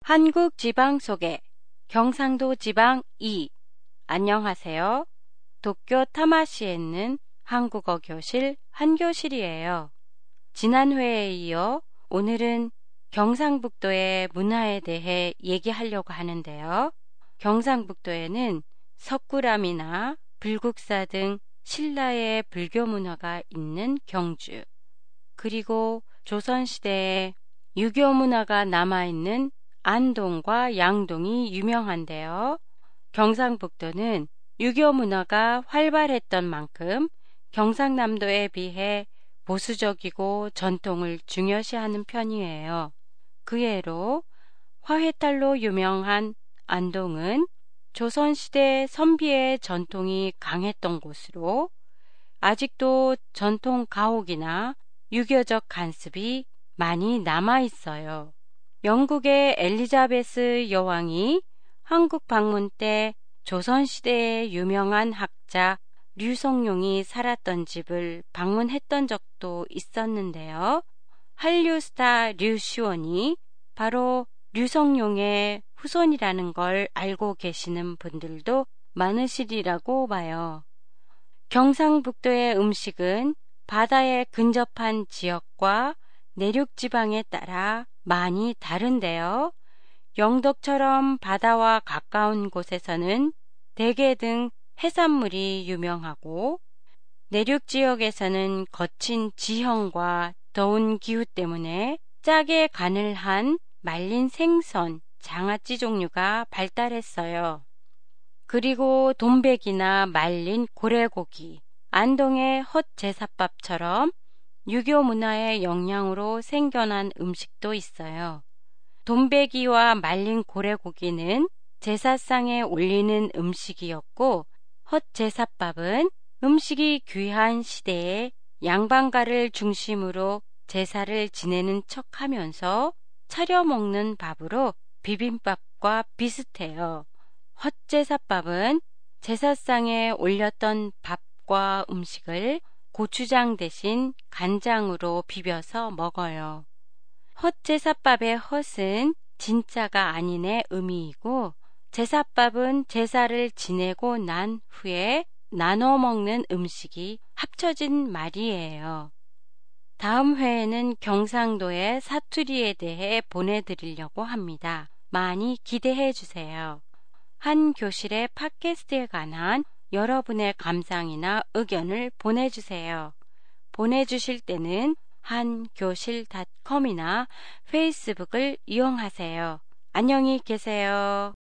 한국 지방 소개, 경상도 지방 2. 안녕하세요. 도쿄 타마시에 있는 한국어 교실 한교실이에요. 지난 회에 이어 오늘은 경상북도의 문화에 대해 얘기하려고 하는데요. 경상북도에는 석굴암이나 불국사 등 신라의 불교 문화가 있는 경주, 그리고 조선시대에 유교 문화가 남아있는 안동과 양동이 유명한데요. 경상북도는 유교 문화가 활발했던 만큼 경상남도에 비해 보수적이고 전통을 중요시하는 편이에요. 그 예로 화훼탈로 유명한 안동은 조선시대 선비의 전통이 강했던 곳으로 아직도 전통 가옥이나 유교적 간습이 많이 남아 있어요. 영국의 엘리자베스 여왕이 한국 방문 때 조선시대의 유명한 학자 류성룡이 살았던 집을 방문했던 적도 있었는데요. 한류 스타 류시원이 바로 류성룡의 후손이라는 걸 알고 계시는 분들도 많으시리라고 봐요. 경상북도의 음식은 바다에 근접한 지역과 내륙지방에 따라 많이 다른데요. 영덕처럼 바다와 가까운 곳에서는 대게 등 해산물이 유명하고, 내륙 지역에서는 거친 지형과 더운 기후 때문에 짜게 간을 한 말린 생선, 장아찌 종류가 발달했어요. 그리고 돈백이나 말린 고래고기, 안동의 헛제사밥처럼 유교 문화의 영향으로 생겨난 음식도 있어요. 돈베기와 말린 고래고기는 제사상에 올리는 음식이었고, 헛제사밥은 음식이 귀한 시대에 양반가를 중심으로 제사를 지내는 척하면서 차려 먹는 밥으로 비빔밥과 비슷해요. 헛제사밥은 제사상에 올렸던 밥과 음식을 고추장 대신 간장으로 비벼서 먹어요. 헛제사밥의 헛은 진짜가 아닌의 의미이고, 제사밥은 제사를 지내고 난 후에 나눠 먹는 음식이 합쳐진 말이에요. 다음 회에는 경상도의 사투리에 대해 보내드리려고 합니다. 많이 기대해 주세요. 한 교실의 팟캐스트에 관한 여러분의 감상이나 의견을 보내주세요. 보내주실 때는 한교실.com이나 페이스북을 이용하세요. 안녕히 계세요.